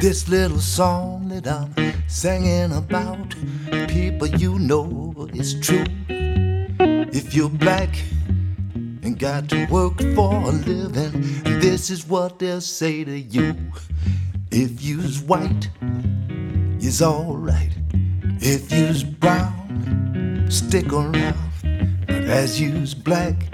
This little song that I'm singing about, people, you know it's true. If you're black and got to work for a living, this is what they'll say to you. If you's white, you's alright. If you's brown, stick around. But as you's black,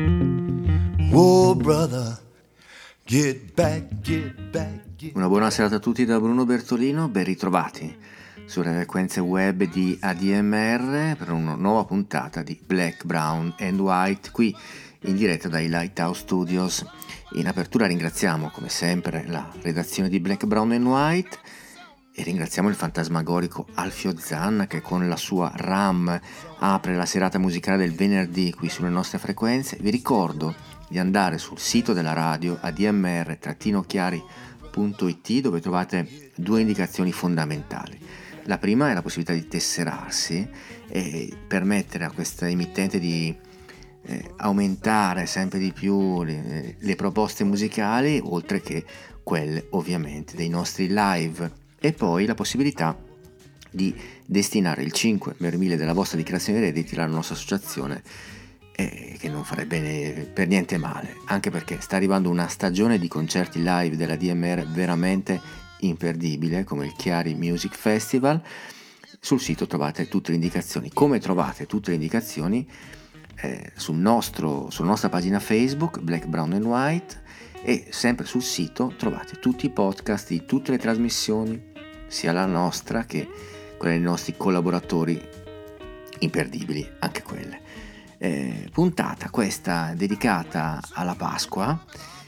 oh brother, get back, get back. Una buona serata a tutti da Bruno Bertolino, ben ritrovati sulle frequenze web di ADMR per una nuova puntata di Black, Brown and White qui in diretta dai Lighthouse Studios. In apertura ringraziamo come sempre la redazione di Black, Brown and White e ringraziamo il fantasmagorico Alfio Zanna che con la sua RAM apre la serata musicale del venerdì qui sulle nostre frequenze. Vi ricordo di andare sul sito della radio admr-chiari.it dove trovate due indicazioni fondamentali. La prima è la possibilità di tesserarsi e permettere a questa emittente di aumentare sempre di più le proposte musicali, oltre che quelle ovviamente dei nostri live, e poi la possibilità di destinare il 5 per mille della vostra dichiarazione dei redditi alla nostra associazione, che non farebbe per niente male, anche perché sta arrivando una stagione di concerti live della DMR veramente imperdibile, come il Chiari Music Festival. Sul sito trovate tutte le indicazioni, come trovate tutte le indicazioni sulla nostra pagina Facebook Black, Brown and White, e sempre sul sito trovate tutti i podcast di tutte le trasmissioni, sia la nostra che quelle dei nostri collaboratori imperdibili, anche quelle. Puntata questa dedicata alla Pasqua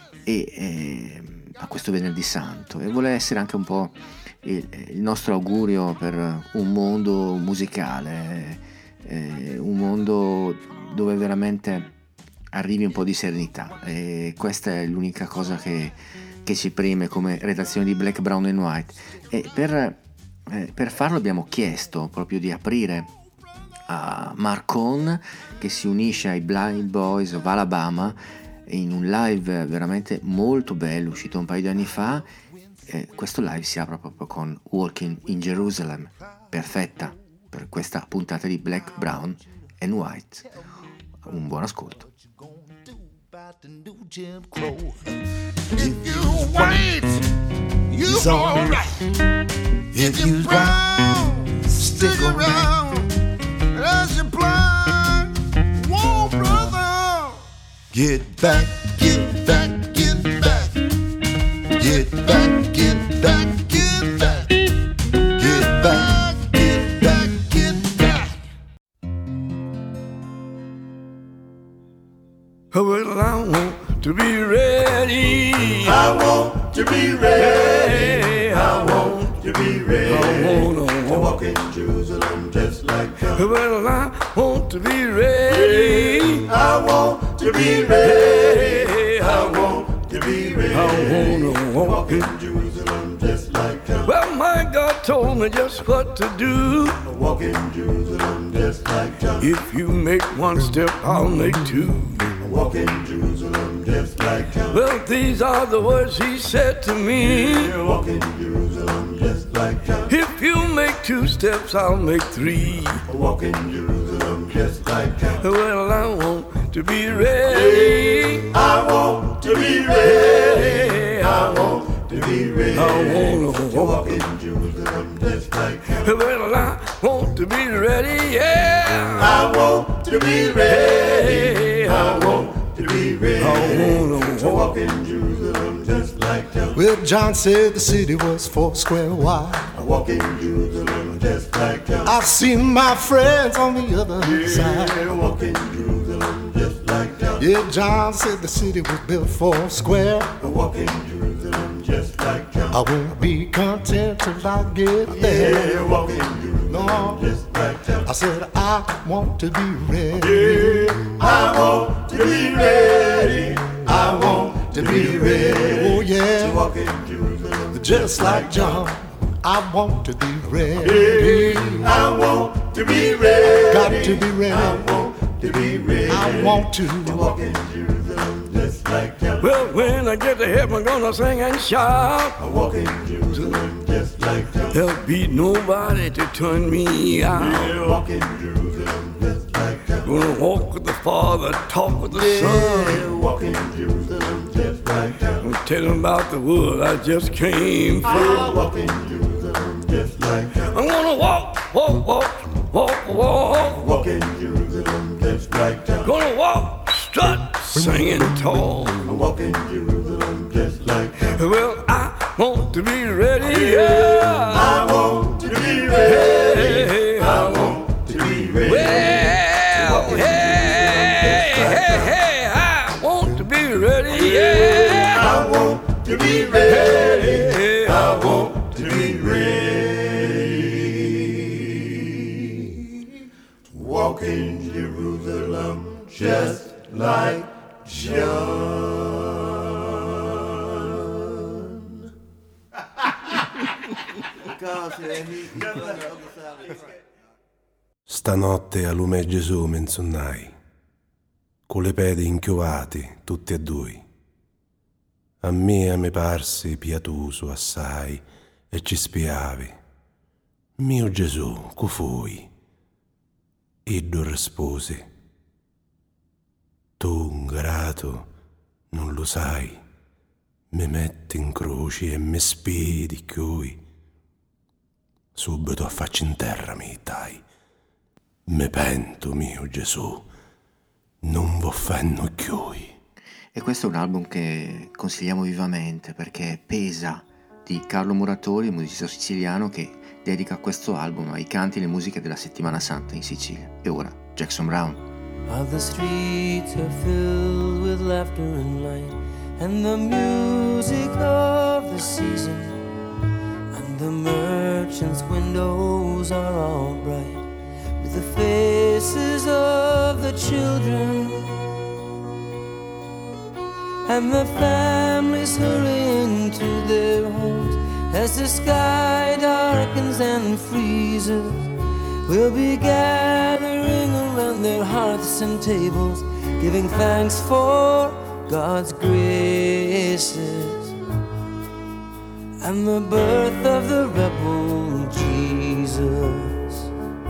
e a questo venerdì santo, e vuole essere anche un po' il nostro augurio per un mondo musicale, un mondo dove veramente arrivi un po' di serenità, e questa è l'unica cosa che ci preme come redazione di Black, Brown and White. E per farlo abbiamo chiesto proprio di aprire a Marcon, che si unisce ai Blind Boys of Alabama in un live veramente molto bello uscito un paio di anni fa. Questo live si apre proprio con Walking in Jerusalem, perfetta per questa puntata di Black, Brown and White. Un buon ascolto. If you're white, you're alright. If you're brown, stick around. As you blind, whoa brother, get back, get back, get back, get back, get back, get back, get back, get back, get back. Well, I want to be ready. I want to be ready. I want to be ready. I wanna to walk in Jerusalem just like God. Well, I want to be ready. I want to be ready. I want to be ready. I wanna to walk in Jerusalem just like God. Well, my God told me just what to do. Walk in Jerusalem just like God. If you make one step, I'll make two. Walk in Jerusalem just like God. Well, these are the words he said to me. Walk in Jerusalem just like God. If you make two steps, I'll make three. Walk in Jerusalem just like God. Well, I want to be ready. I want to be ready. I want to be ready. I wanna to walk in Jerusalem just like God. Well, I want to be ready, yeah. I want to be ready. I want to be ready. I wanna to walk in Jerusalem just like God. Well, John said the city was 4 square wide. I walk in Jerusalem just like God. I've seen my friends on the other side. I walk in Jerusalem just like God. Yeah, John said the city was built 4 square. I walk in Jerusalem just like God. I won't be content till I get there. Yeah, walk in Jerusalem No. just like God. I said I want to be ready. I want to be ready. I want to be ready. Oh yeah, to walk in Jerusalem just like John. I want to be ready. I want to be ready. Got to be ready. I want to be ready. I want to walk in Jerusalem just like John. Well, when I get to heaven, I'm gonna sing and shout. I walk in Jerusalem just like John. There'll be nobody to turn me out. We'll walk in Jerusalem just like John. Gonna walk with the Father, talk with the Son. We'll walk in Jerusalem just like John. I'm telling about the world I just came from. I'll walk in Jerusalem just like John. I'm gonna walk, walk, walk, walk, walk. Walk in Jerusalem just like John. Gonna walk, strut, singing tall. I'll walk in Jerusalem just like John. Well, I want to be ready, yeah. I want to be ready. I want to be ready. Well, hey, hey, hey, I want to be ready, yeah. I want to be ready. I want to be ready. Walk in Jerusalem just like John. Stanotte a lume Gesù menzonnai, con le pedi inchiovati tutti e due. A me parsi pietoso assai e ci spiavi. Mio Gesù, cu fui? Iddo risposi, tu ingrato non lo sai, mi metti in croce e mi spedi chiui. Subito a faccia in terra mi dai. Me pento, mio Gesù, non v'offenno chiui. E questo è un album che consigliamo vivamente perché Pesa di Carlo Muratori, un musicista siciliano che dedica questo album ai canti e le musiche della Settimana Santa in Sicilia. E ora Jackson Browne. All the streets are filled with laughter and light, and the music of the season, and the merchants' windows are all bright with the faces of the children, and the families hurrying to their homes as the sky darkens and freezes. We'll be gathering around their hearths and tables, giving thanks for God's graces and the birth of the rebel Jesus.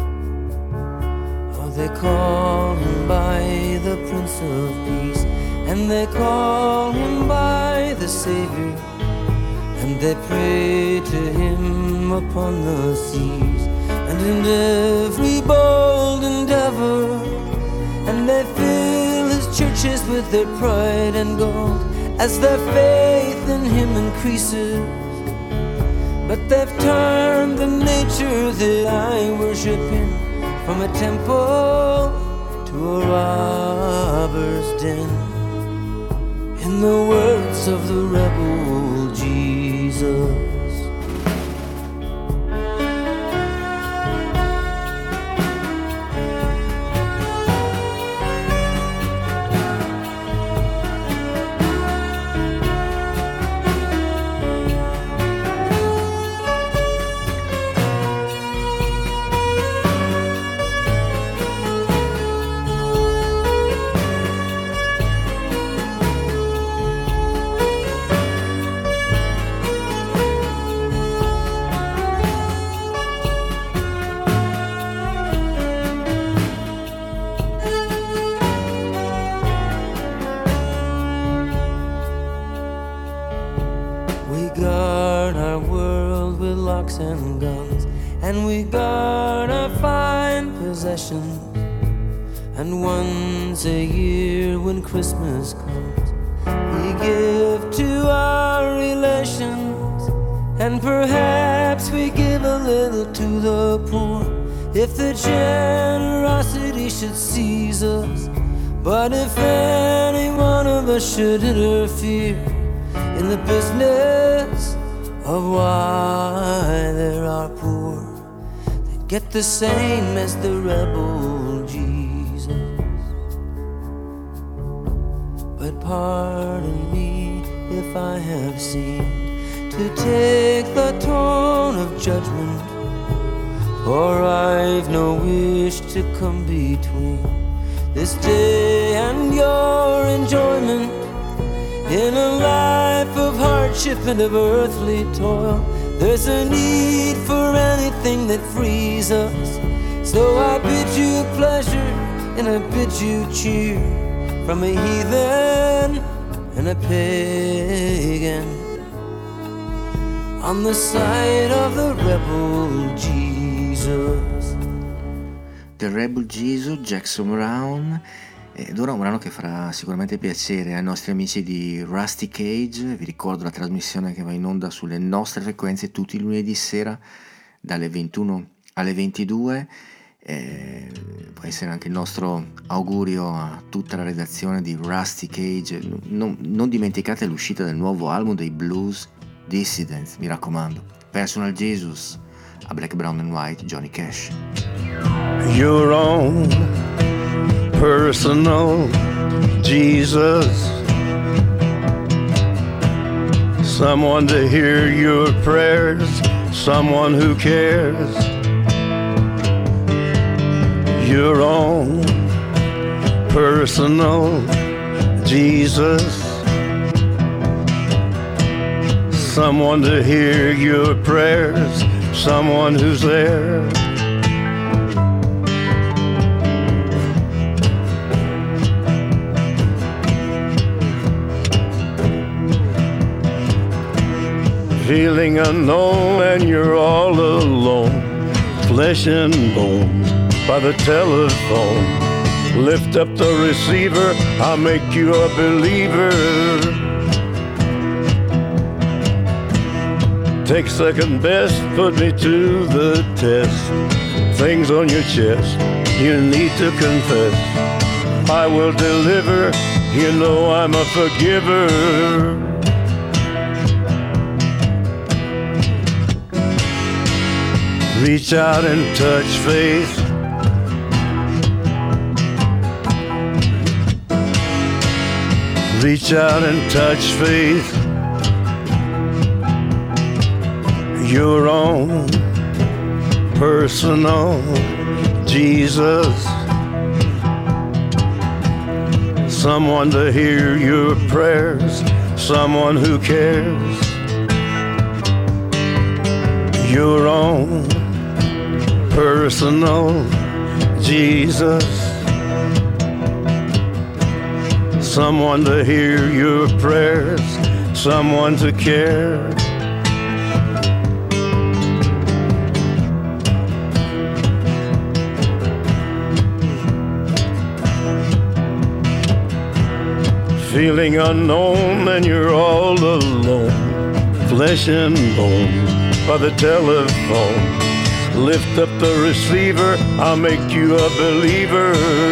Oh, they call him by the Prince of Peace, and they call him by the Savior, and they pray to him upon the seas and in every bold endeavor, and they fill his churches with their pride and gold as their faith in him increases. But they've turned the nature that I worship in from a temple to a robber's den. In the words of the rebel Jesus, and guns, and we guard our fine possessions, and once a year when Christmas comes we give to our relations, and perhaps we give a little to the poor if the generosity should seize us. But if any one of us should interfere in the business of why there are poor, they get the same as the rebel Jesus. But pardon me if I have seemed to take the tone of judgment, for I've no wish to come between this day and your enjoyment in a life of hardship and of earthly toil. There's a need for anything that frees us. So I bid you pleasure and I bid you cheer from a heathen and a pagan on the side of the rebel Jesus. The Rebel Jesus, Jackson Browne. Ed ora un brano che farà sicuramente piacere ai nostri amici di Rusty Cage. Vi ricordo la trasmissione che va in onda sulle nostre frequenze tutti i lunedì sera dalle 21 alle 22. Può essere anche il nostro augurio a tutta la redazione di Rusty Cage. Non dimenticate l'uscita del nuovo album dei Blues Dissidents, mi raccomando. Personal Jesus, a Black, Brown and White, Johnny Cash. Your own personal Jesus, someone to hear your prayers, someone who cares. Your own personal Jesus, someone to hear your prayers, someone who's there. Feeling unknown and you're all alone, flesh and bone by the telephone. Lift up the receiver, I'll make you a believer. Take second best, put me to the test. Things on your chest, you need to confess. I will deliver, you know I'm a forgiver. Reach out and touch faith. Reach out and touch faith. Your own personal Jesus, someone to hear your prayers, someone who cares. Your own personal Jesus, someone to hear your prayers, someone to care. Feeling unknown and you're all alone, flesh and bone by the telephone. Lift up the receiver, I'll make you a believer.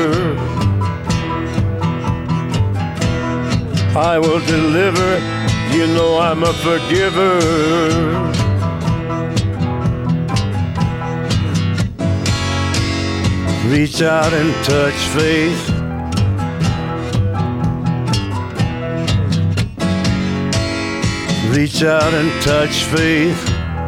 I will deliver, you know I'm a forgiver. Reach out and touch faith. Reach out and touch faith.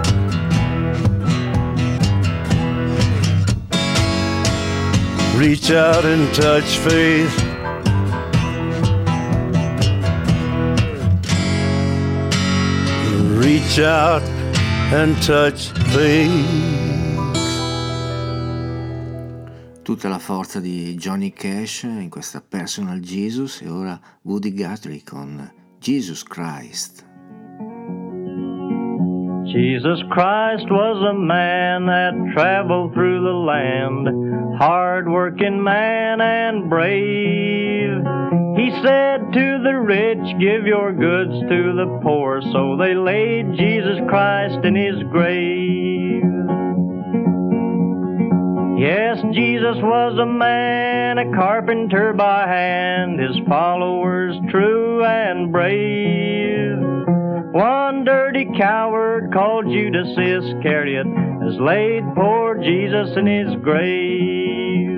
Reach out and touch faith. Reach out and touch faith. Tutta la forza di Johnny Cash in questa Personal Jesus, e ora Woody Guthrie con Jesus Christ. Jesus Christ was a man that traveled through the land, hard-working man and brave. He said to the rich, give your goods to the poor, so they laid Jesus Christ in his grave. Yes, Jesus was a man, a carpenter by hand, his followers true and brave. One dirty coward called Judas Iscariot has laid poor Jesus in his grave.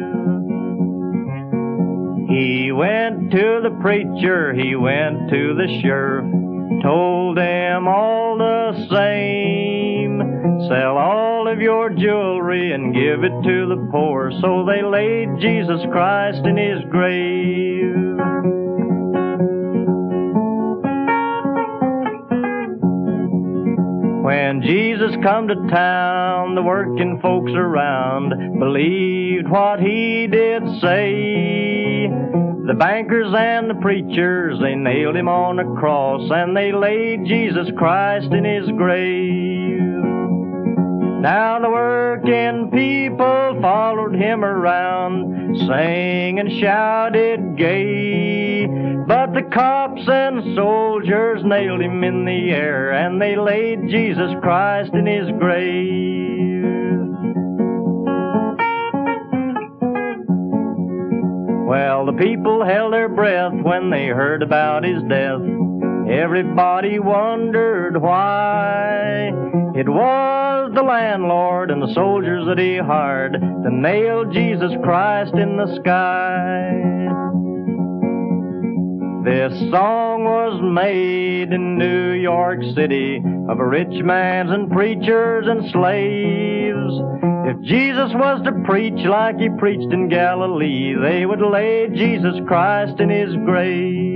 He went to the preacher, he went to the sheriff, told them all the same, sell all of your jewelry and give it to the poor. So they laid Jesus Christ in his grave. When When Jesus come to town, the working folks around believed what he did say. The bankers and the preachers, they nailed him on a cross, and they laid Jesus Christ in his grave. Now the working people followed him around, sang and shouted gay. But the cops and soldiers nailed him in the air, and they laid Jesus Christ in his grave. Well, the people held their breath when they heard about his death. Everybody wondered why. It was the landlord and the soldiers that he hired to nail Jesus Christ in the sky. This song was made in New York City of rich mans and preachers and slaves. If Jesus was to preach like he preached in Galilee, they would lay Jesus Christ in his grave.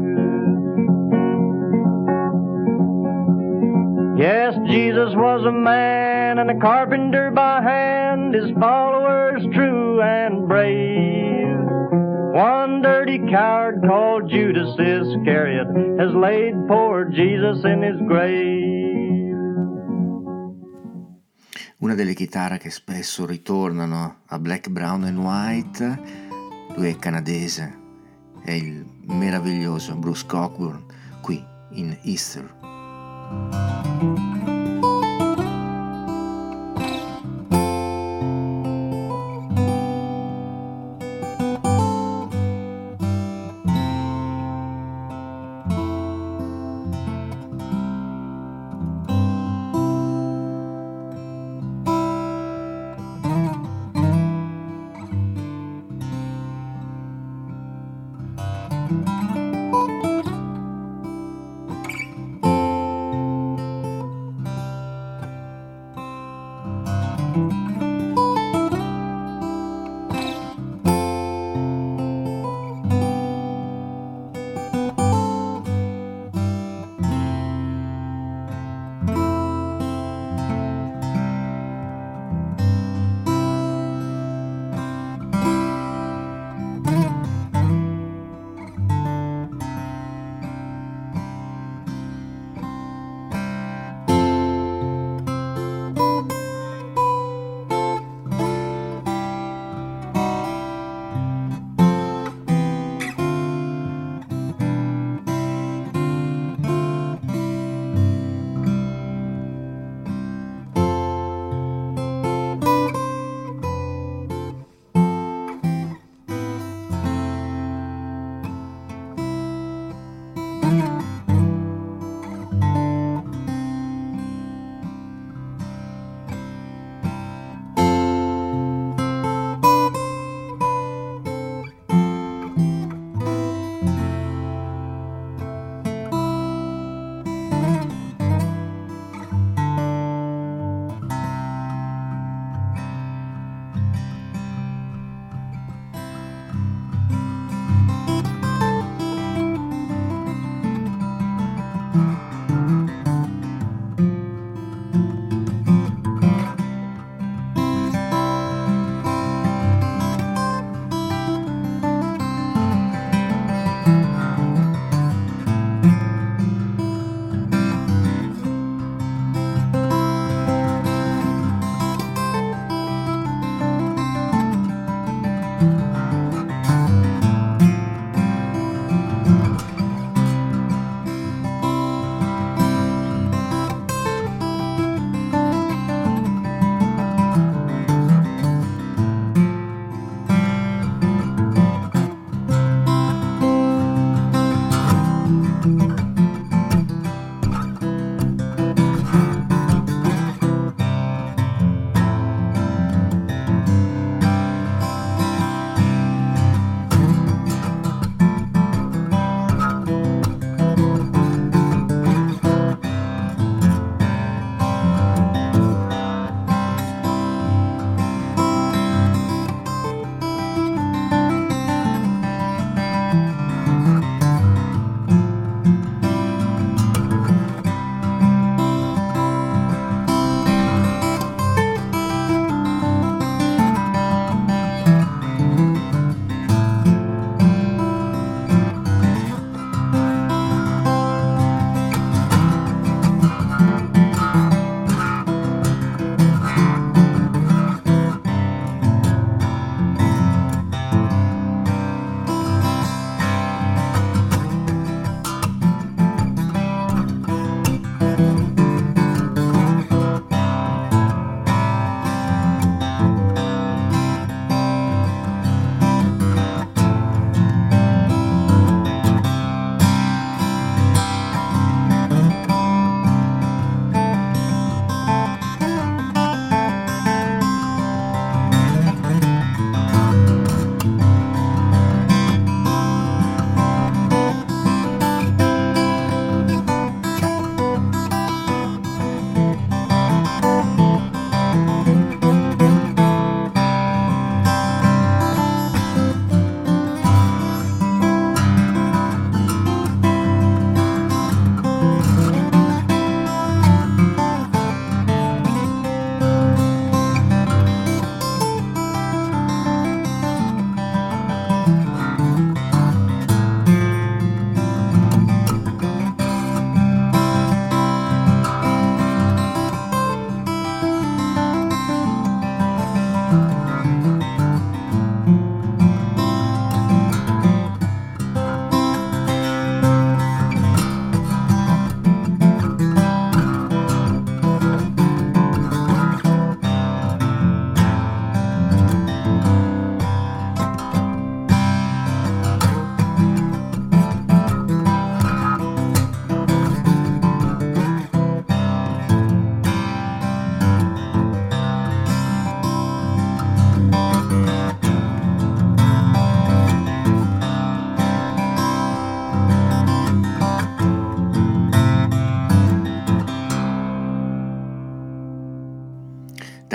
Yes, Jesus was a man and a carpenter by hand, his followers true and brave. One dirty coward called Judas Iscariot has laid poor Jesus in his grave. Una delle chitarre che spesso ritornano a Black, Brown and White, lui è canadese, è il meraviglioso Bruce Cockburn qui in Easter.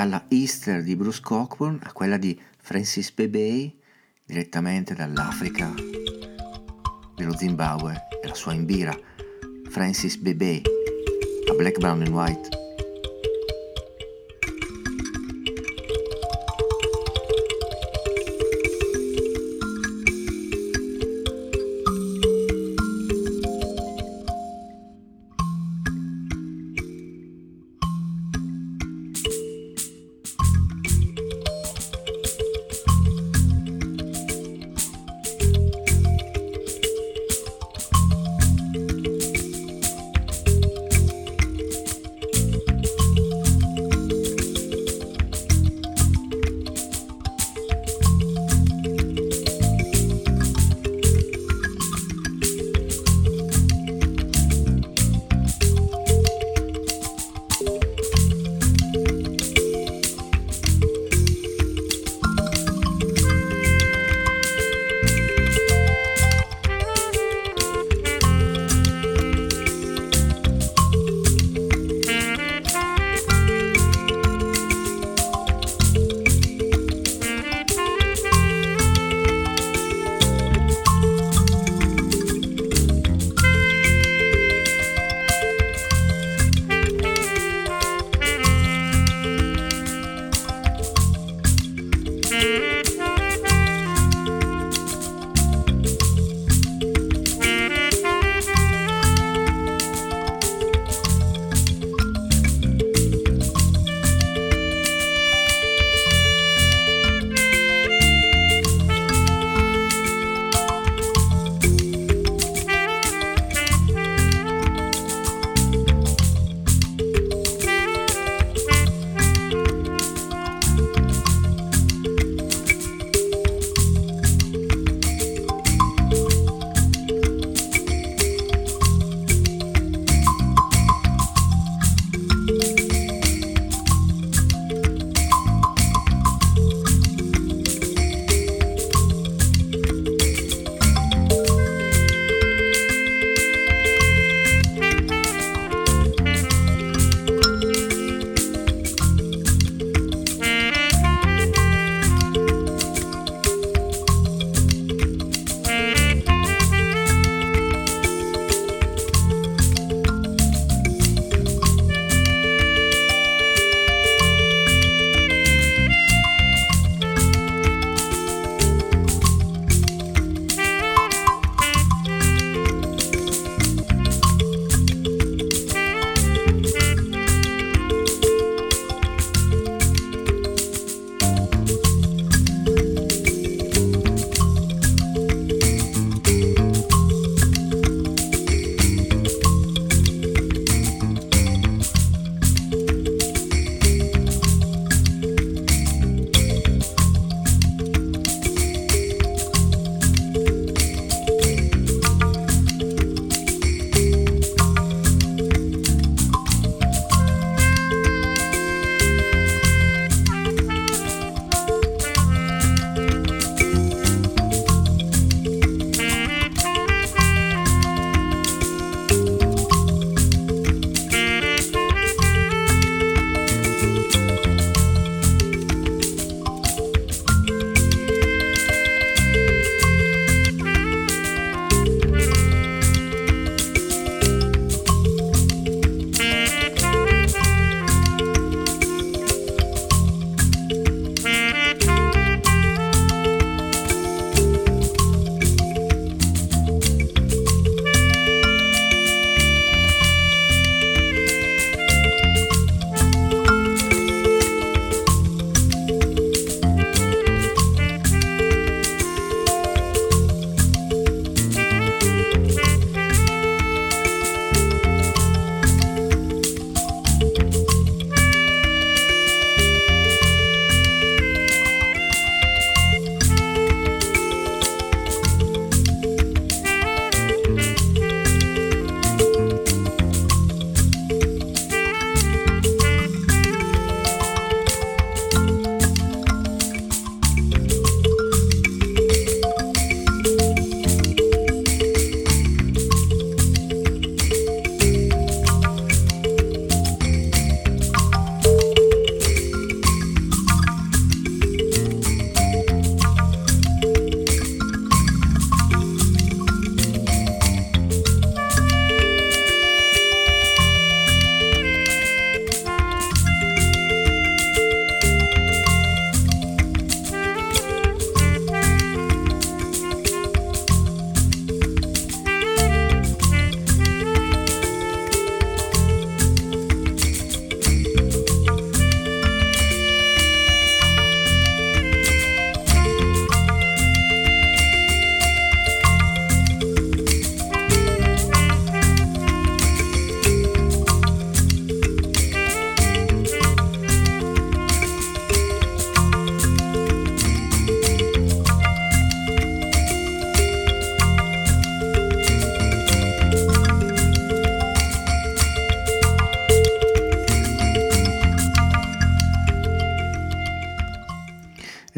dalla Easter di Bruce Cockburn a quella di Francis Bebey, direttamente dall'Africa, dello Zimbabwe, e la sua Imbira, Francis Bebey, a Black, Brown and White.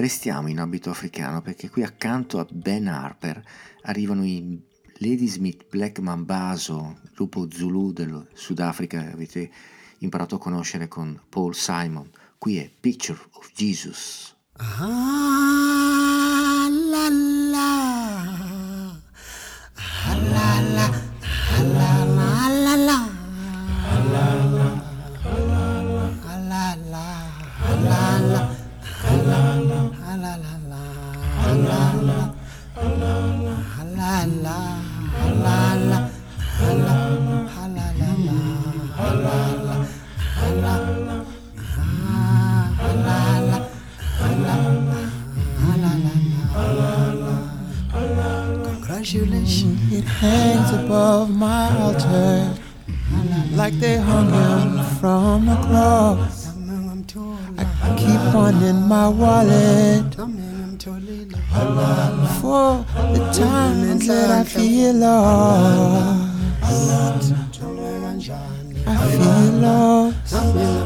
Restiamo in abito africano perché qui accanto a Ben Harper arrivano i Ladysmith Black Mambazo, lupo Zulu del Sudafrica, che avete imparato a conoscere con Paul Simon. Qui è Picture of Jesus. Ah, la la, ah, la la, ah, la la, la la, ah, la la, ah, la la, ah, la la, ah, la la, ah, la la, ah, la la, ah, la la, ah, la la. Congratulations, it hangs above my altar like they hung him from a cross. I keep one in my wallet for the times that I feel lost. I feel lost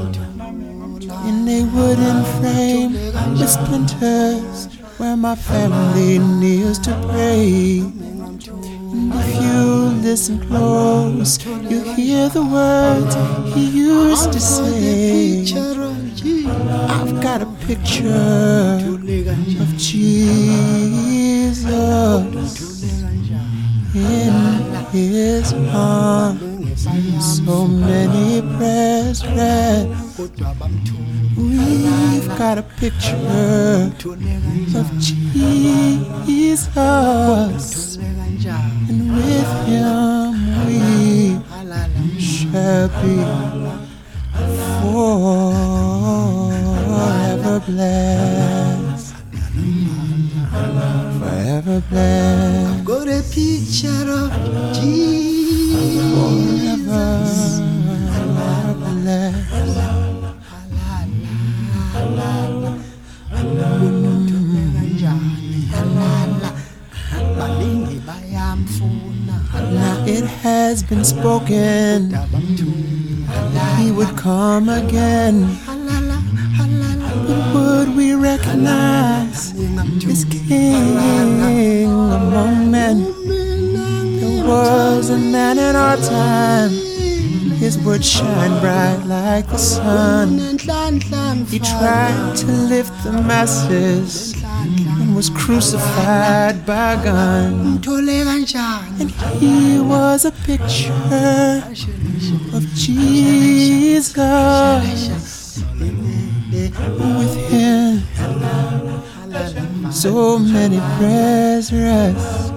in a wooden frame with splinters where my family kneels to pray. And if you listen close, you hear the words he used to say. I've got a picture of Jesus in his arms. So many prayers read. We've got a picture of Jesus, and with him we shall be forever blessed. Forever blessed. I've got a picture of Jesus, forever blessed. Now it has been spoken he would come again. But would we recognize this king among men? There was a man in our time, his words shine bright like the sun. He tried to lift the masses and was crucified by a gun. And he was a picture of Jesus. With him so many prayers rest.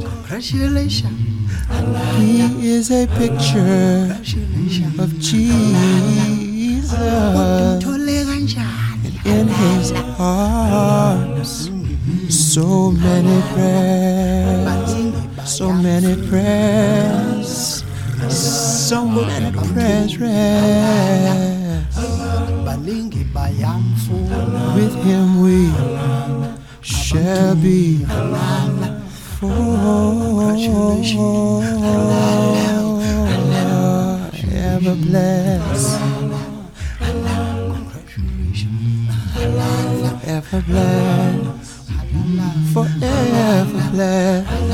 He is a picture of Jesus, and in his arms so many prayers, so many prayers, so many prayers rest. With him we shall be forever blessed. Forever blessed. Forever blessed.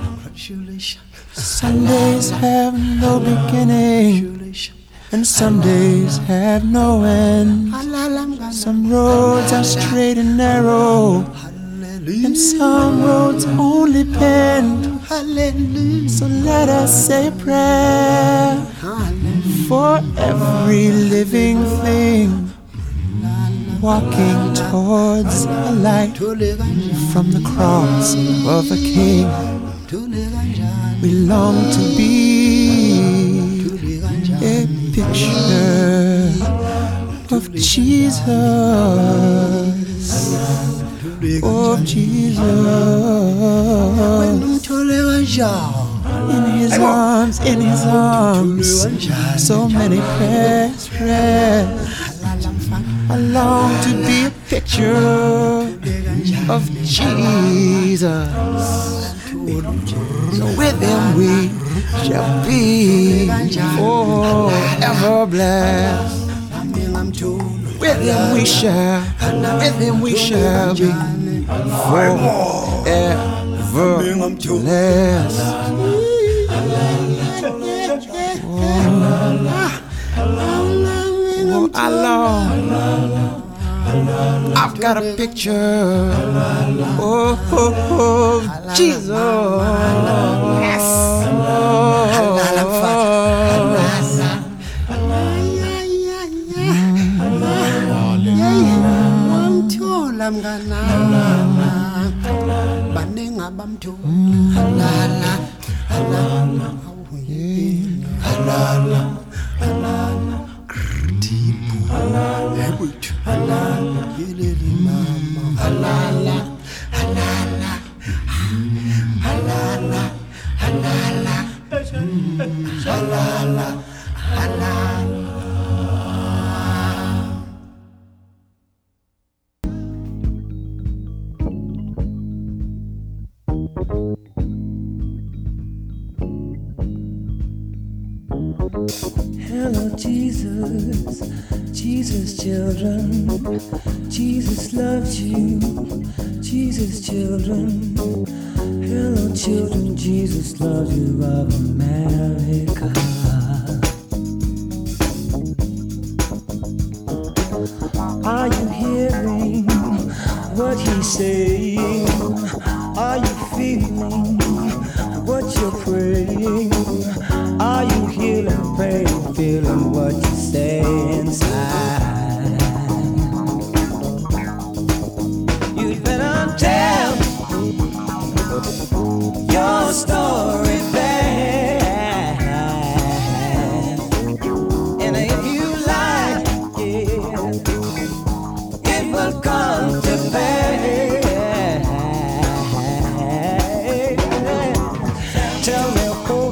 Sundays have no beginning, and some days have no end. Some roads are straight and narrow, and some roads only bend. So let us say a prayer for every living thing walking towards a light from the cross of a king. We long to be a picture of Jesus, of Jesus. In his arms, in his arms, so many prayers rest. I long to be a picture of Jesus. So with him we shall be forever blessed. With him we shall be I've got a picture of Jesus. Yes. Hello, Jesus, Jesus, children. Jesus loves you, Jesus, children. Hello, children, Jesus loves you of America. Are you hearing what he's saying? Are you feeling what you're praying? Are you healing, praying, feeling what you say inside? You'd better tell your story back, and if you like it, it will come to pass. Tell me,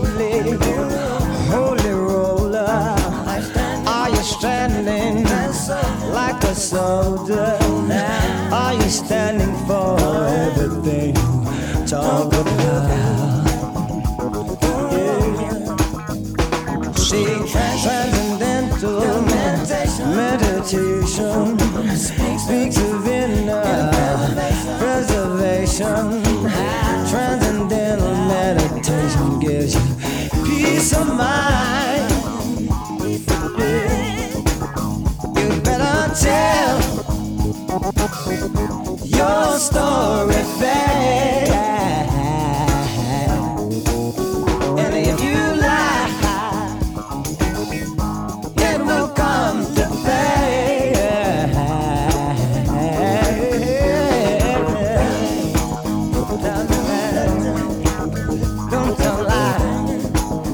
holy roller, are you standing like a soldier? Are you standing for everything you talk about? Yeah. See, transcendental meditation speaks of inner preservation. Transcendental meditation gives you peace of mind. You better tell your story back, and if you lie, it will come to pass. Don't tell lies.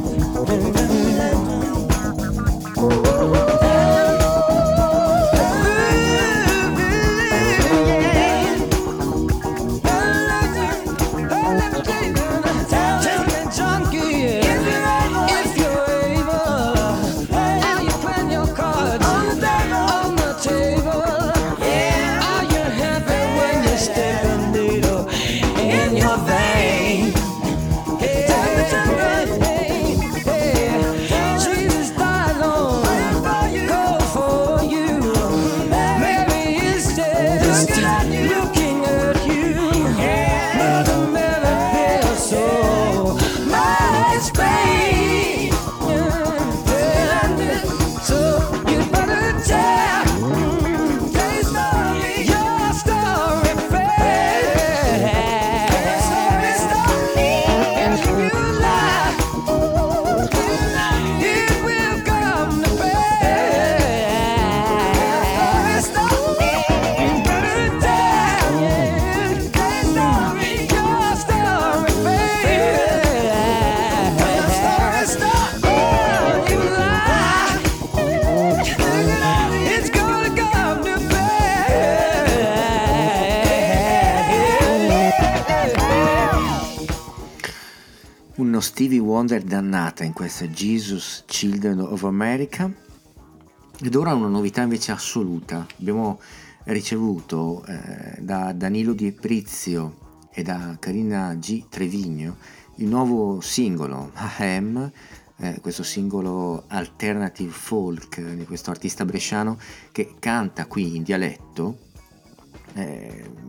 Uno Stevie Wonder dannata in questa Jesus Children of America. Ed ora una novità invece assoluta. Abbiamo ricevuto da Danilo Di Prizio e da Carina G. Trevigno il nuovo singolo Ahem, questo singolo alternative folk di questo artista bresciano che canta qui in dialetto.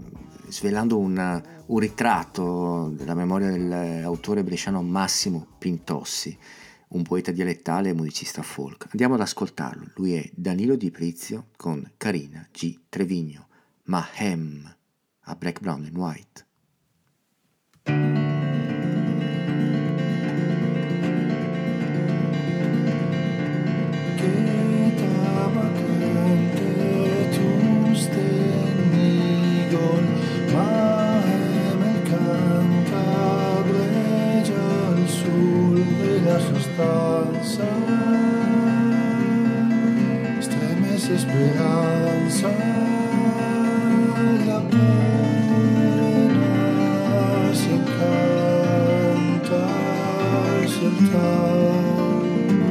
svelando un ritratto della memoria dell'autore bresciano Massimo Pintossi, un poeta dialettale e musicista folk. Andiamo ad ascoltarlo. Lui è Danilo Di Prizio con Carina G. Trevigno, Mahem, a Black, Brown and White. Sostanza, stremese speranza, la pena si canta soltanto,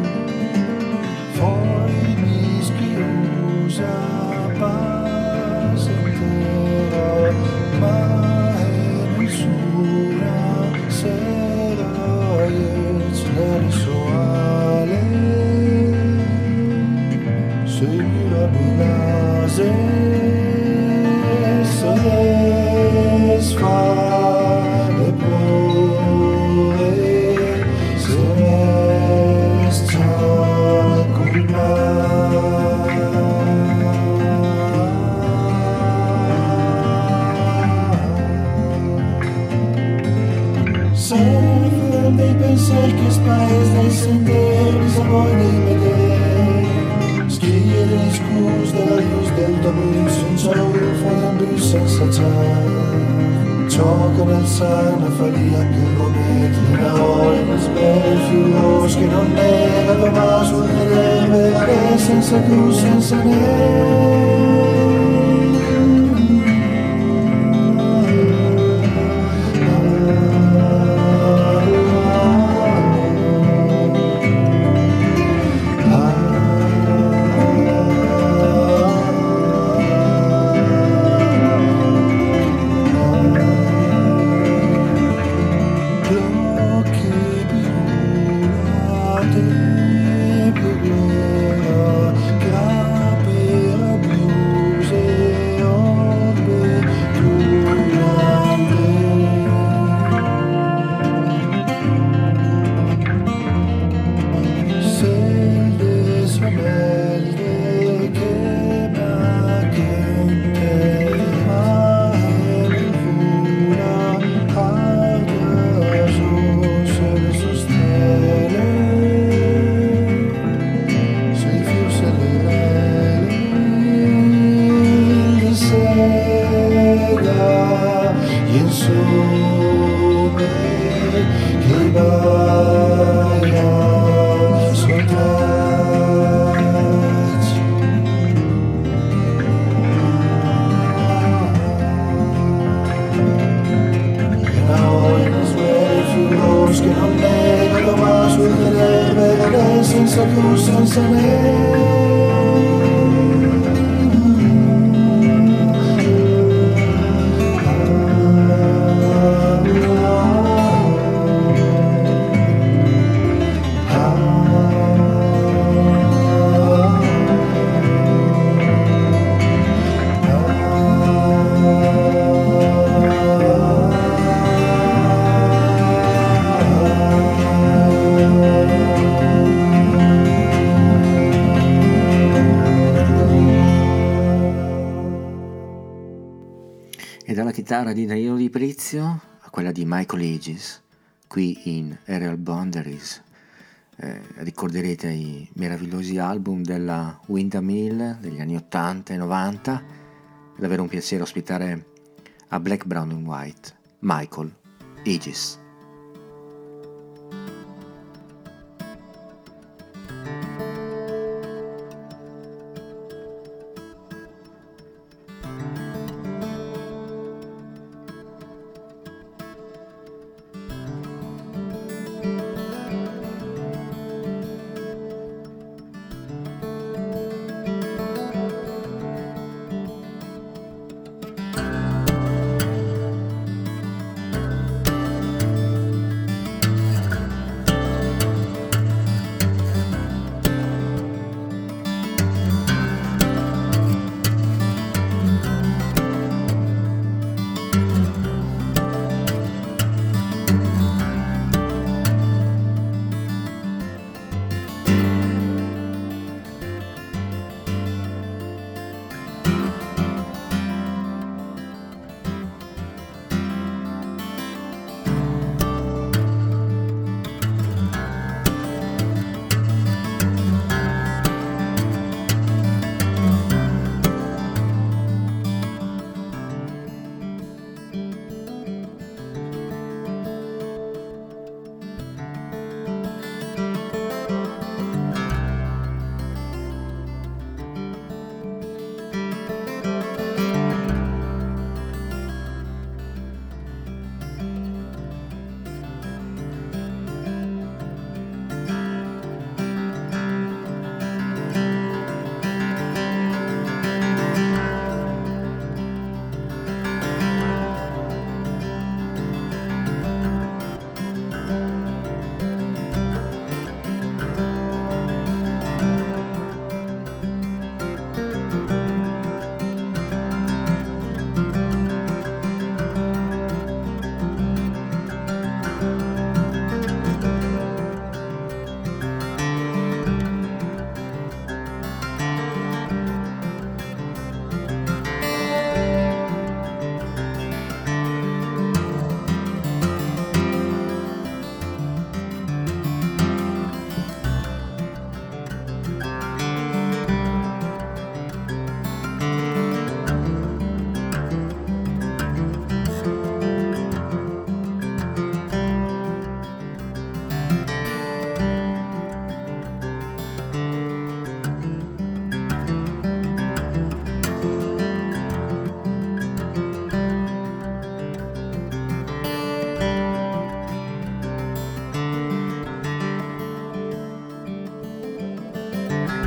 poi mi schiusa passa intera, ma è nessuna sera sensuale, seguirà bilase, se sfare pure, se resta dei pensieri che spaes dai sentieri, sapori dei vedere, schie degli scus della luz del tabù, senza rufo d'ambù, senza ciao, gioco nel sangue, faria che prometti, la ora in sbel, fiulos che non nega, domani sul vedere, senza cruz, senza neve. Chitarra di Danilo Di Prizio a quella di Michael Aegis, qui in Aerial Boundaries. Ricorderete i meravigliosi album della Windmill degli anni 80 e 90. È davvero un piacere ospitare a Black, Brown and White Michael Aegis.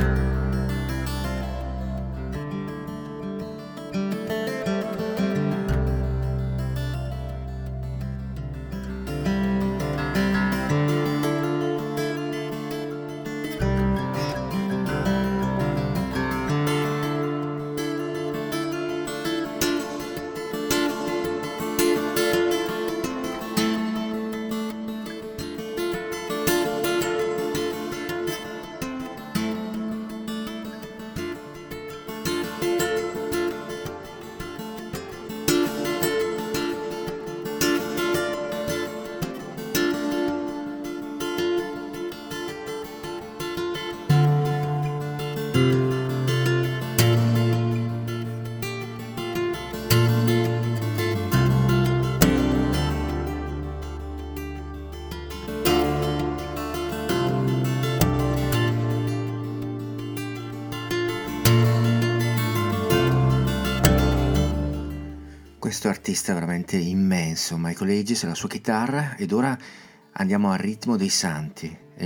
Questo artista è veramente immenso, Michael Ages e la sua chitarra, ed ora andiamo al ritmo dei santi. È il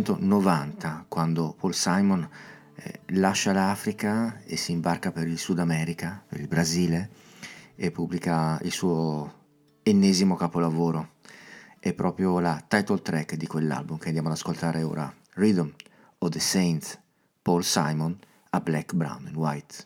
1990 quando Paul Simon lascia l'Africa e si imbarca per il Sud America, per il Brasile, e pubblica il suo ennesimo capolavoro. È proprio la title track di quell'album che andiamo ad ascoltare ora, Rhythm of the Saints, Paul Simon a Black, Brown and White.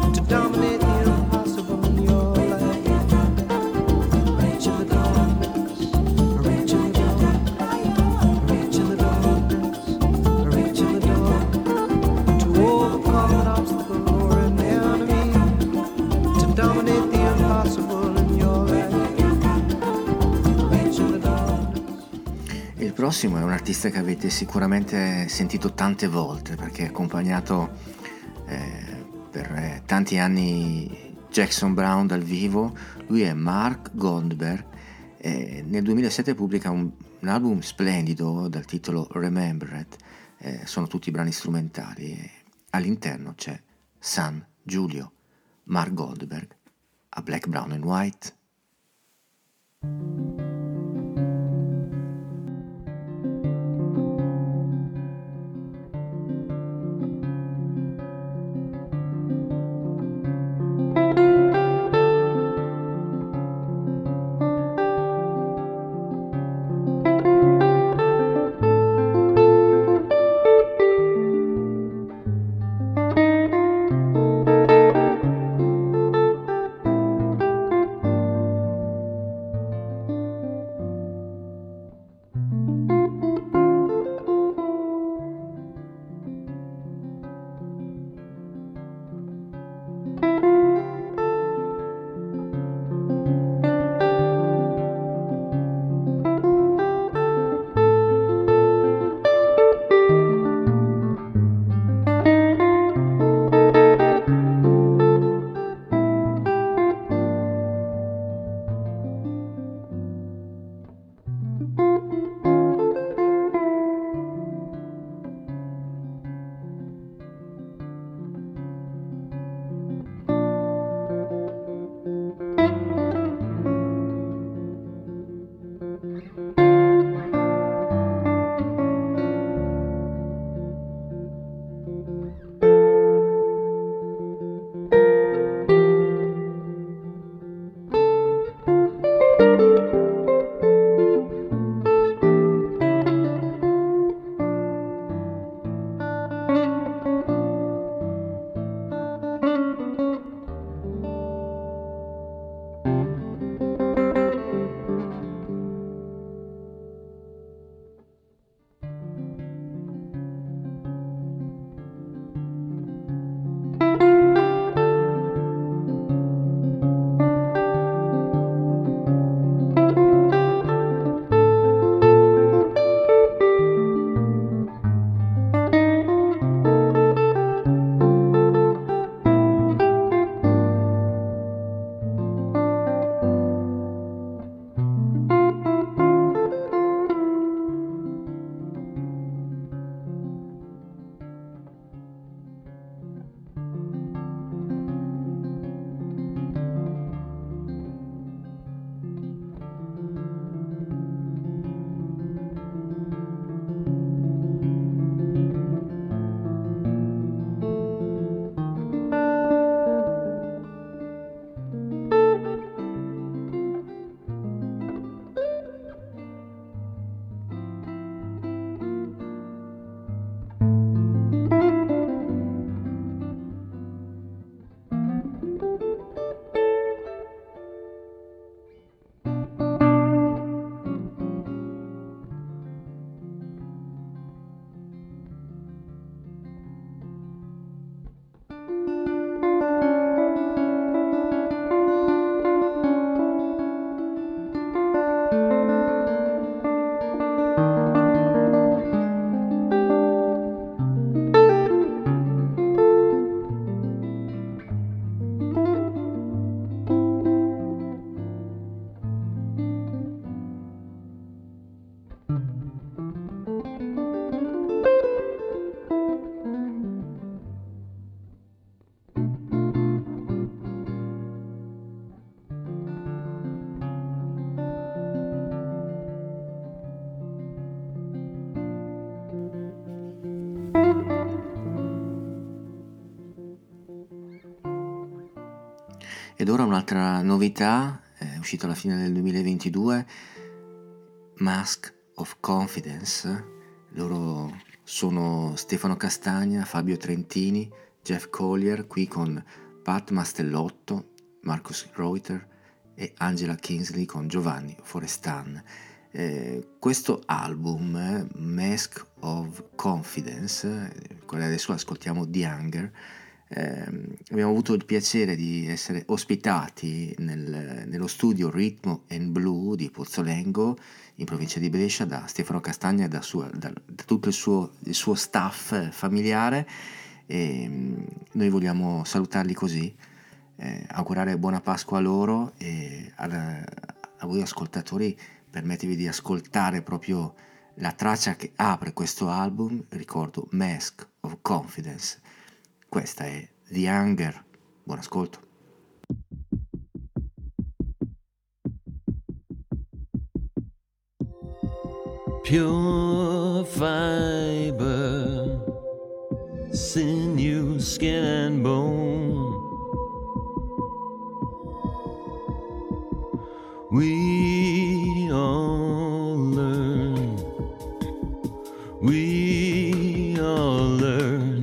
Dominate the impossible in your life. Reach in the darkness. dominate the impossible in your life. Reaching the darkness. Il prossimo è un artista che avete sicuramente sentito tante volte perché ha accompagnato per tanti anni Jackson Browne dal vivo. Lui è Mark Goldberg e nel 2007 pubblica un album splendido dal titolo Remembered. Sono tutti brani strumentali e all'interno c'è San Giulio, Mark Goldberg a Black, Brown and White. Ed ora un'altra novità, è uscita alla fine del 2022, Mask of Confidence. Loro sono Stefano Castagna, Fabio Trentini, Jeff Collier, qui con Pat Mastellotto, Marcus Reuter e Angela Kingsley con Giovanni Forestan. Questo album, Mask of Confidence, quello adesso ascoltiamo The Hunger, Abbiamo avuto il piacere di essere ospitati nello studio Ritmo and Blue di Pozzolengo in provincia di Brescia da Stefano Castagna e da tutto il suo staff familiare, e noi vogliamo salutarli così, augurare buona Pasqua a loro e a voi ascoltatori. Permettevi di ascoltare proprio la traccia che apre questo album, ricordo Mask of Confidence. Questa è The Hunger. Buon ascolto. Pure fiber, sinew, skin and bone. We all learn. We all learn.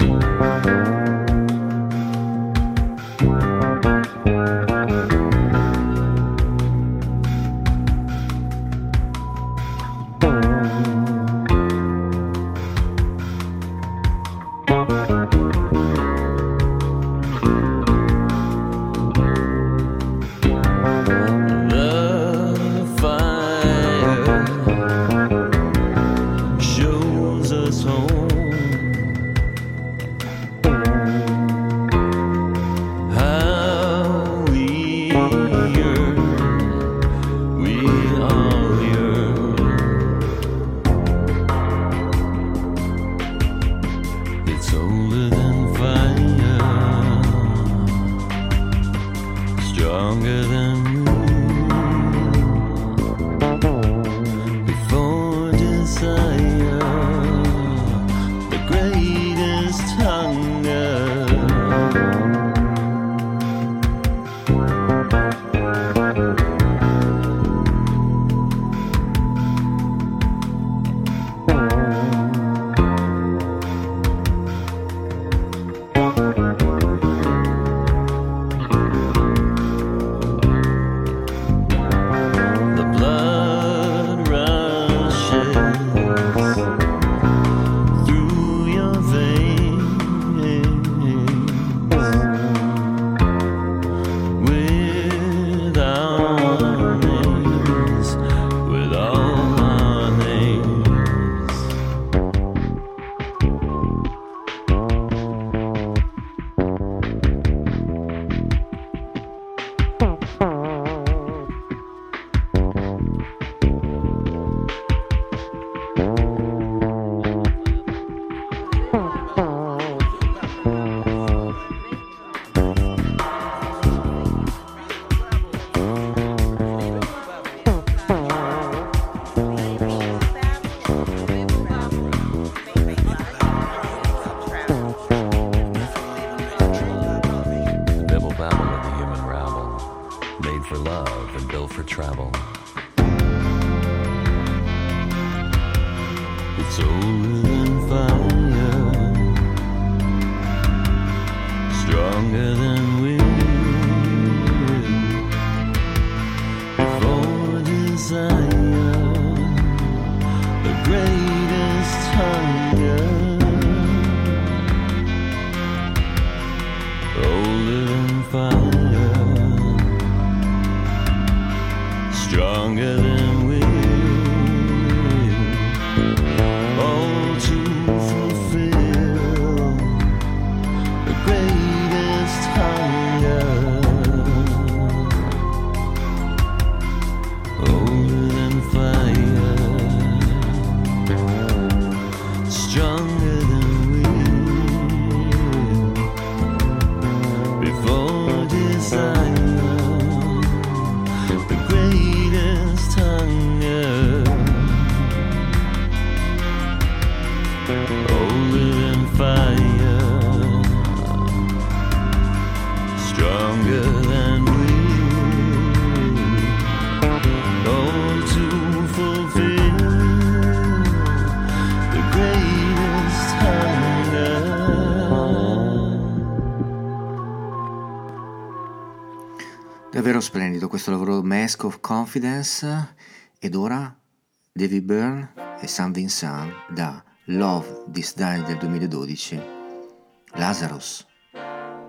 Davvero splendido questo lavoro, Mask of Confidence. Ed ora David Byrne e Sam Vincent da Love This Die del 2012, Lazarus.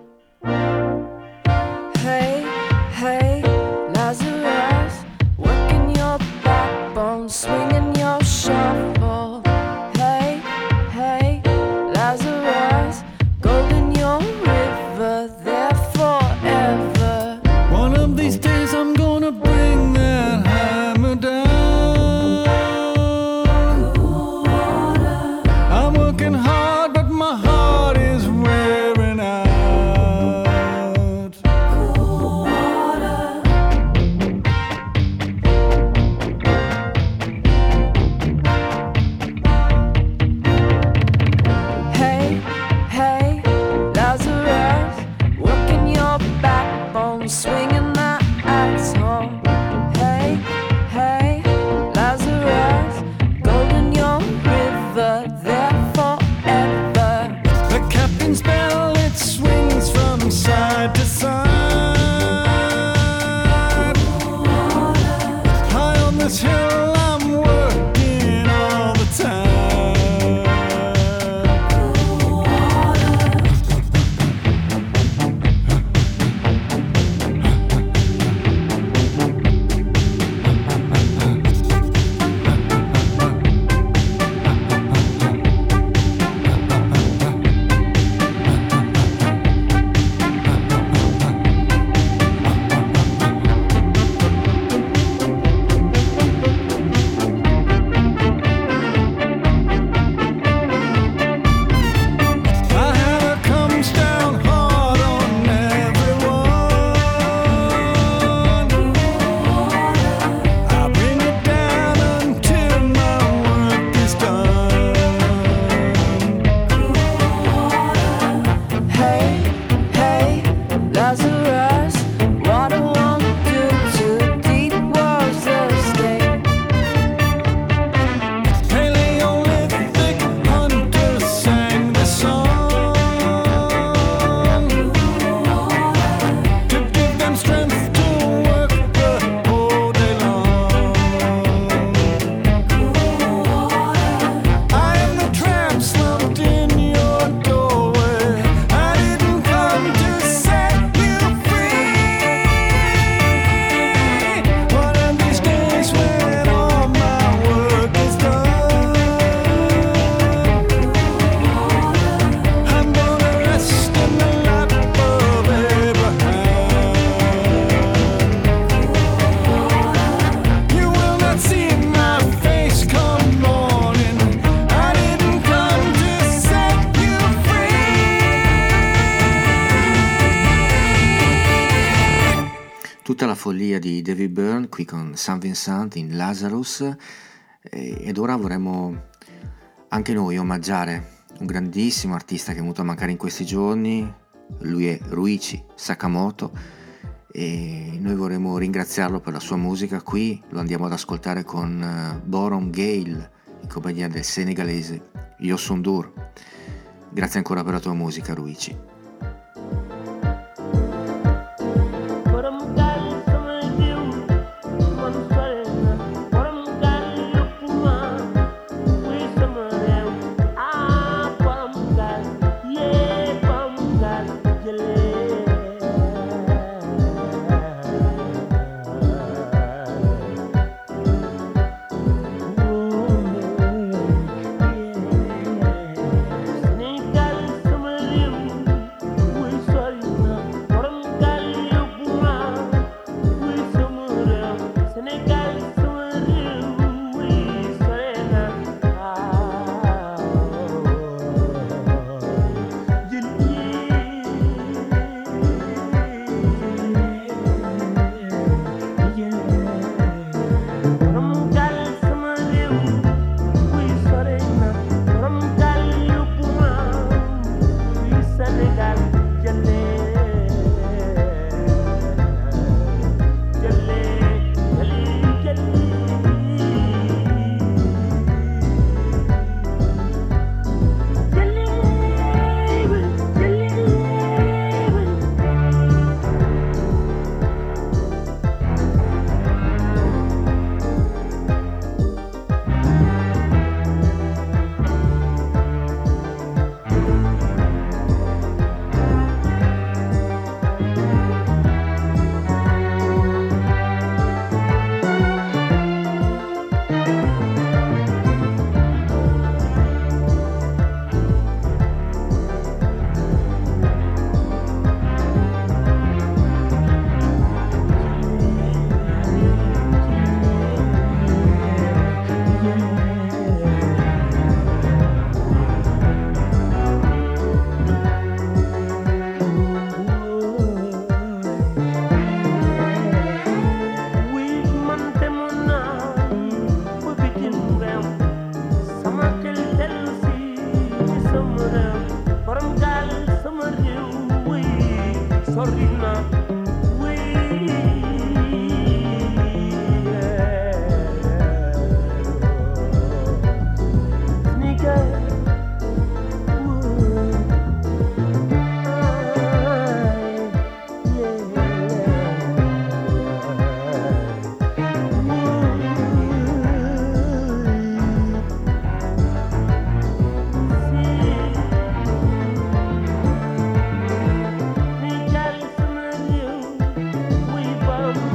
lights home. Hey, hey, Lazarus, golden young river, there forever. The captain's bell, it swings from side to side. High on this hill, I'm working all the time. Tutta la follia di David Byrne qui con St. Vincent in Lazarus, ed ora vorremmo anche noi omaggiare un grandissimo artista che è venuto a mancare in questi giorni. Lui è Ryuichi Sakamoto e noi vorremmo ringraziarlo per la sua musica. Qui lo andiamo ad ascoltare con Boron Gale in compagnia del senegalese Youssou N'Dour. Grazie ancora per la tua musica, Ryuichi.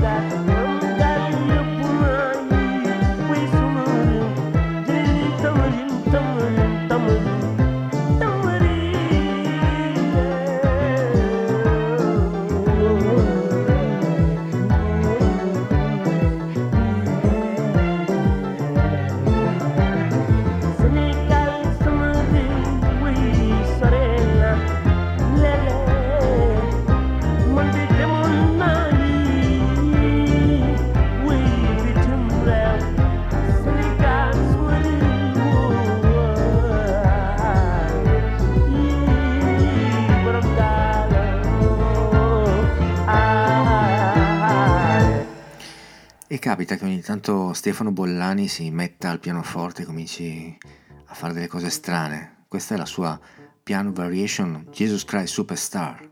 E capita che ogni tanto Stefano Bollani si metta al pianoforte e cominci a fare delle cose strane. Questa è la sua piano variation Jesus Christ Superstar.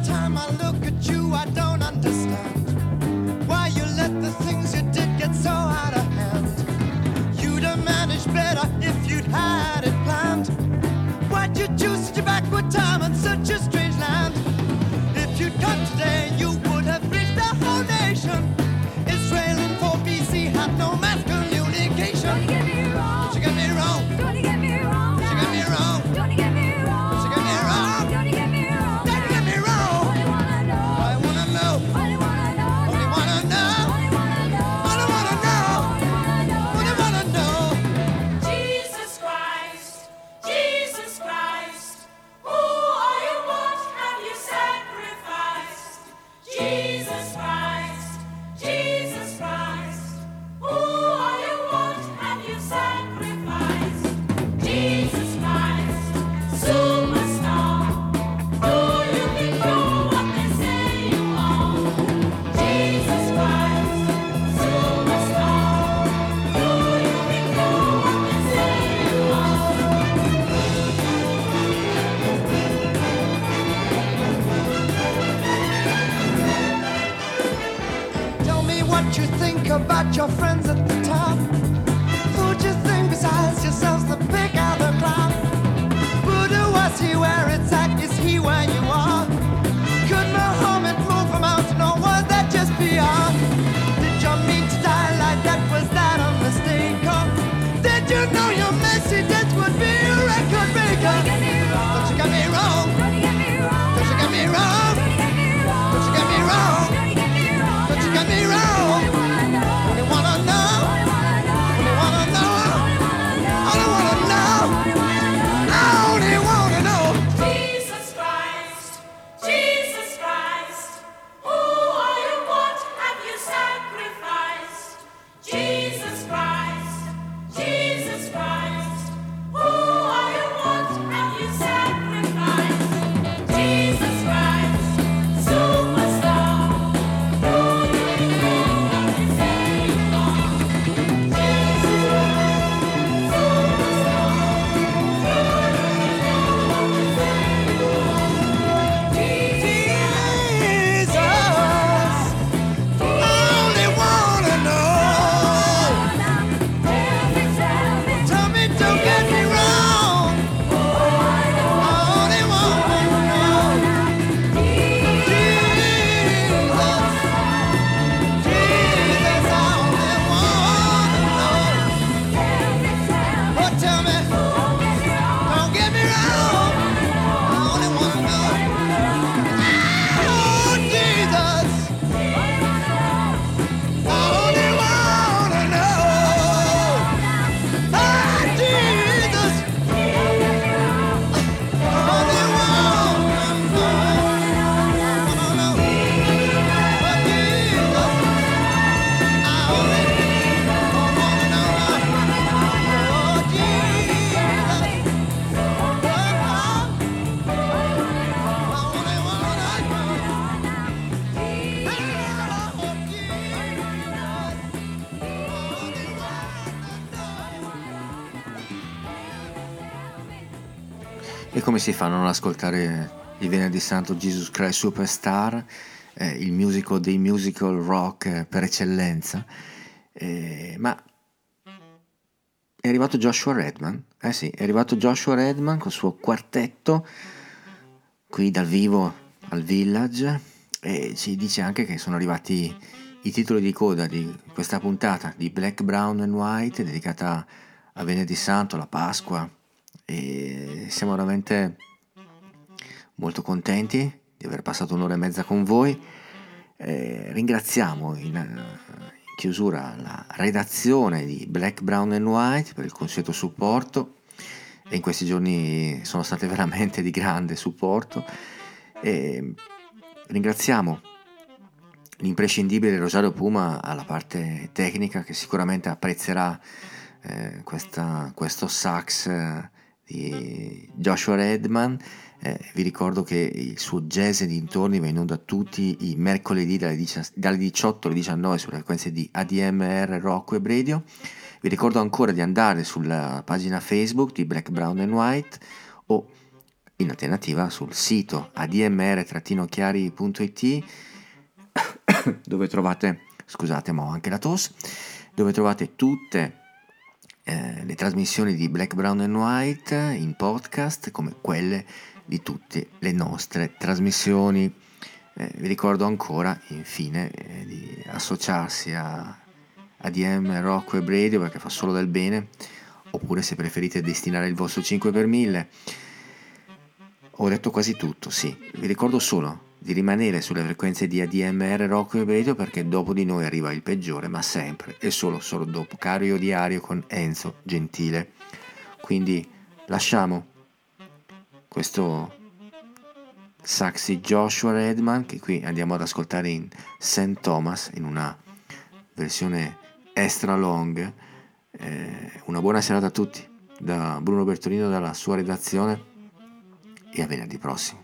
time I look at you, I don't understand why you let the things you did get so out of hand. You'd have managed better if you'd had it planned. Why'd you choose such a backward time and such a strange land? If you'd come today, you would have reached the whole nation. Israel in 4 BC had no mass communication. Don't get me wrong. Don't you get me wrong. Don't get me wrong. Don't you get me wrong. Don't get me wrong. Don't you get me wrong. Don't you get me wrong. Don't you get me wrong. Only wanna know. I wanna know. Only wanna know. Only wanna know. Only wanna know. Only wanna know. Only wanna know. Jesus Christ, Jesus Christ, who are you? What have you sacrificed? Jesus Christ, Jesus Christ, who are you? What have you sacrificed? Jesus Christ, superstar, do you think you're what they say you are? Jesus Christ, superstar, do you think you're what they say you Tell me what you think about your friends at the top. Who'd you think besides yourselves the pick out the clown? Buddha, was he where it's at? Is he where you are? Could Muhammad move a mountain or was that just beyond? Did you mean to die like that? Was that a mistake? Or did you know your Mercedes would be a record breaker? Don't you get me wrong. Don't you get me wrong. Don't you get me wrong. Don't you get me wrong. Don't you get me wrong. Only wanna know. Only wanna know. Only wanna know. I only wanna know. Jesus Christ, Jesus Christ, who are you? What have you sacrificed? Jesus Christ, Jesus Christ, who are you? What have you sacrificed? Jesus Christ, superstar, do you think you're what they say you are? Jesus Christ, superstar, do you think you're what they say you are? Jesus, I only wanna know. Tell me, don't get me wrong. I only wanna know. Jesus, Jesus, I only wanna know. Oh, tell me, don't get me wrong. I only wanna know. Oh, Jesus, I only wanna know. Ah, Jesus, I only wanna know. Oh, Jesus, I only wanna know. Oh, E come si fa a non ascoltare il Venerdì Santo Jesus Christ Superstar, il musical dei musical rock per eccellenza? Ma è arrivato Joshua Redman, sì, è arrivato Joshua Redman col suo quartetto qui dal vivo al Village, e ci dice anche che sono arrivati i titoli di coda di questa puntata di Black, Brown and White dedicata a Venerdì Santo, la Pasqua, e siamo veramente molto contenti di aver passato un'ora e mezza con voi. Ringraziamo in chiusura la redazione di Black, Brown and White per il consueto supporto, e in questi giorni sono state veramente di grande supporto. Ringraziamo l'imprescindibile Rosario Puma alla parte tecnica, che sicuramente apprezzerà questo sax di Joshua Redman. Vi ricordo che il suo Jazz e dintorni va in onda tutti i mercoledì dalle 18 alle 19 sulle frequenze di ADMR Rock Web Radio. Vi ricordo ancora di andare sulla pagina Facebook di Black, Brown and White o in alternativa sul sito admr-chiari.it dove trovate, scusate ma ho anche la tosse, dove trovate tutte le trasmissioni di Black, Brown and White in podcast come quelle di tutte le nostre trasmissioni. Vi ricordo ancora infine di associarsi a ADM Rock Web Radio perché fa solo del bene, oppure se preferite destinare il vostro 5 per 1000. Ho detto quasi tutto, sì. Vi ricordo solo di rimanere sulle frequenze di ADMR Rock Web Radio perché dopo di noi arriva il peggiore, ma sempre e solo dopo Cario Diario con Enzo Gentile. Quindi lasciamo questo Saxy Joshua Redman che qui andiamo ad ascoltare in St. Thomas in una versione extra long. Una buona serata a tutti da Bruno Bertolino dalla sua redazione e a venerdì prossimo.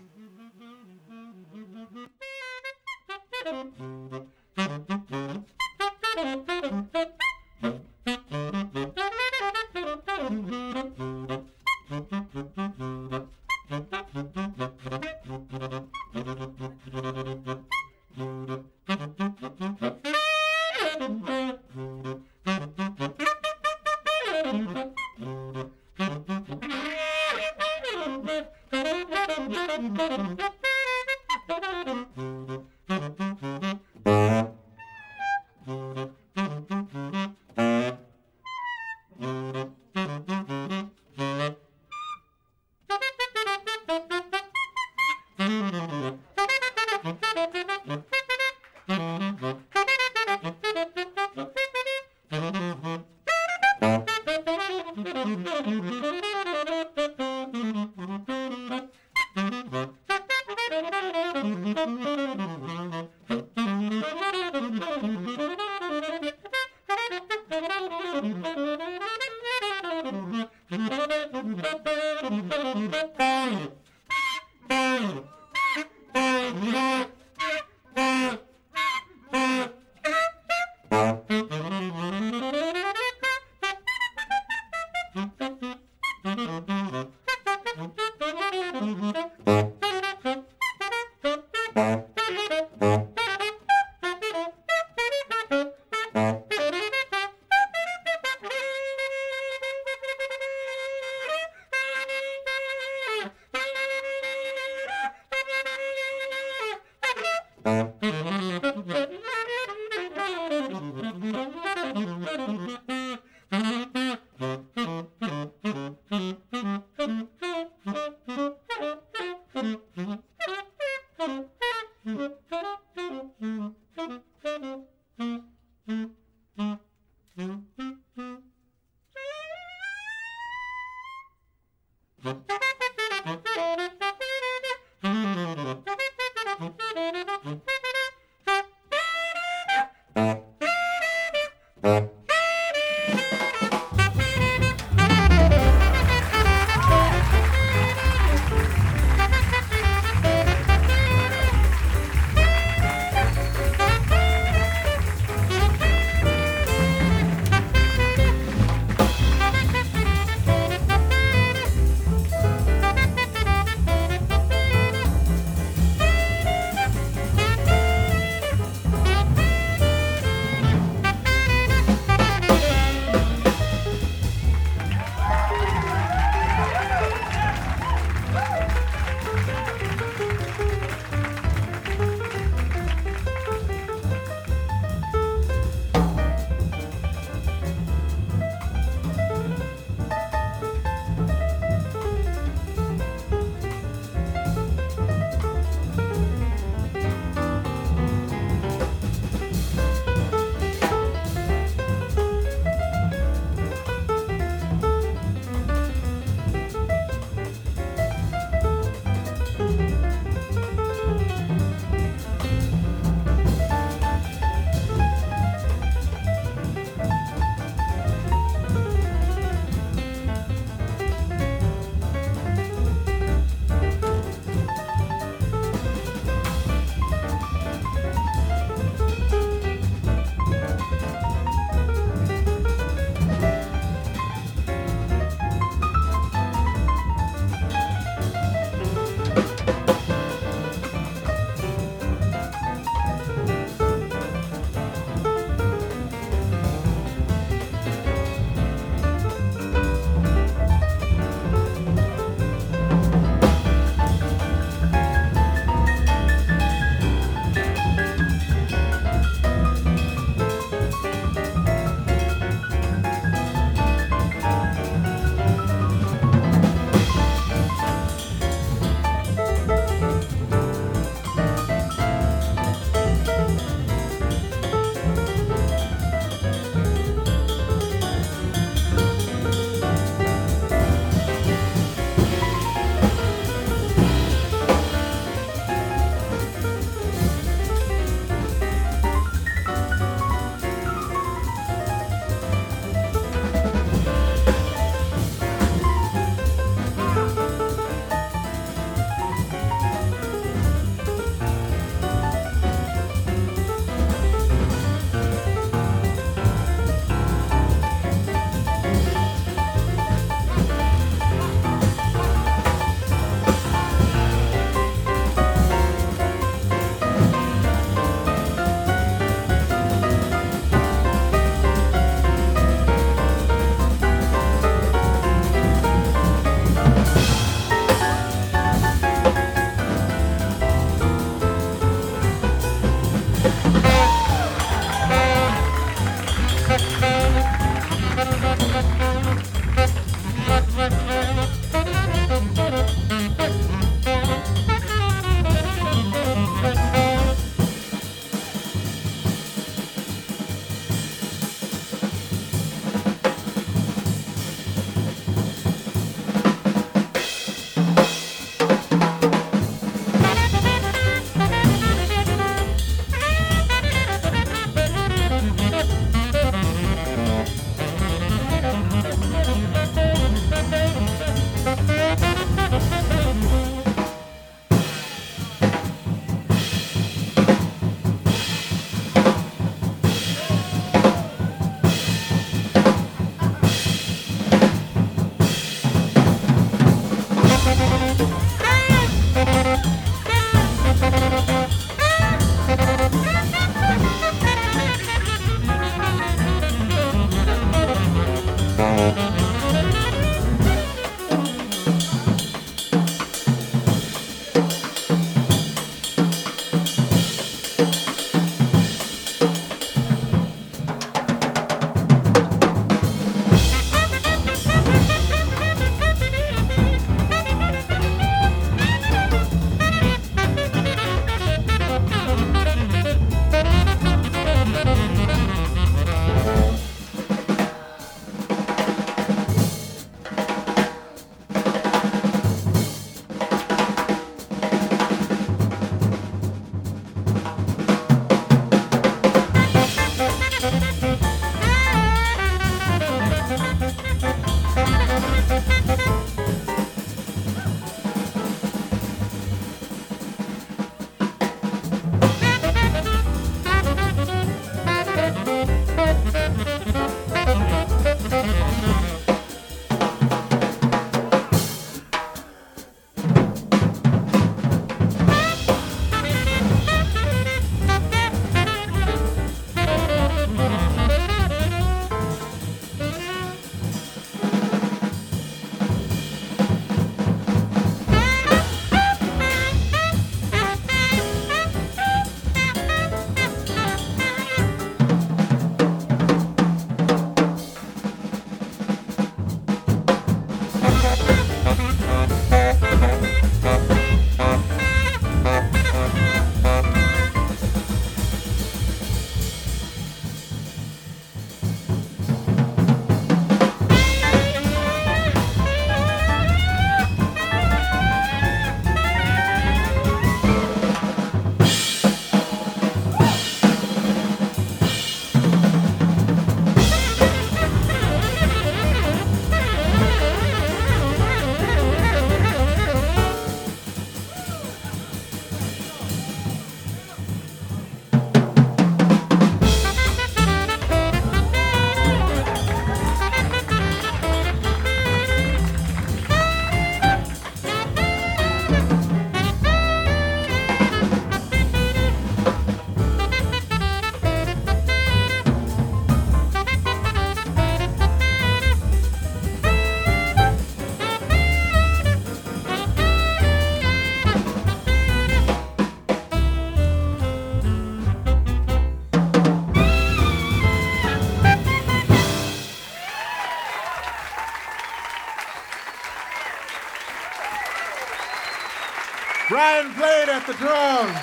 Brian Blade at the drums.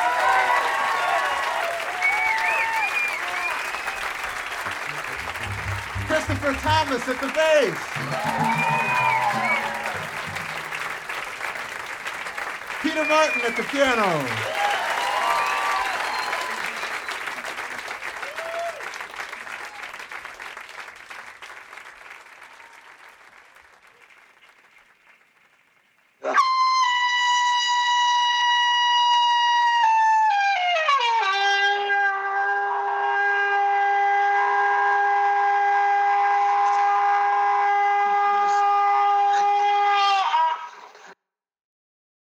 Christopher Thomas at the bass. Peter Martin at the piano.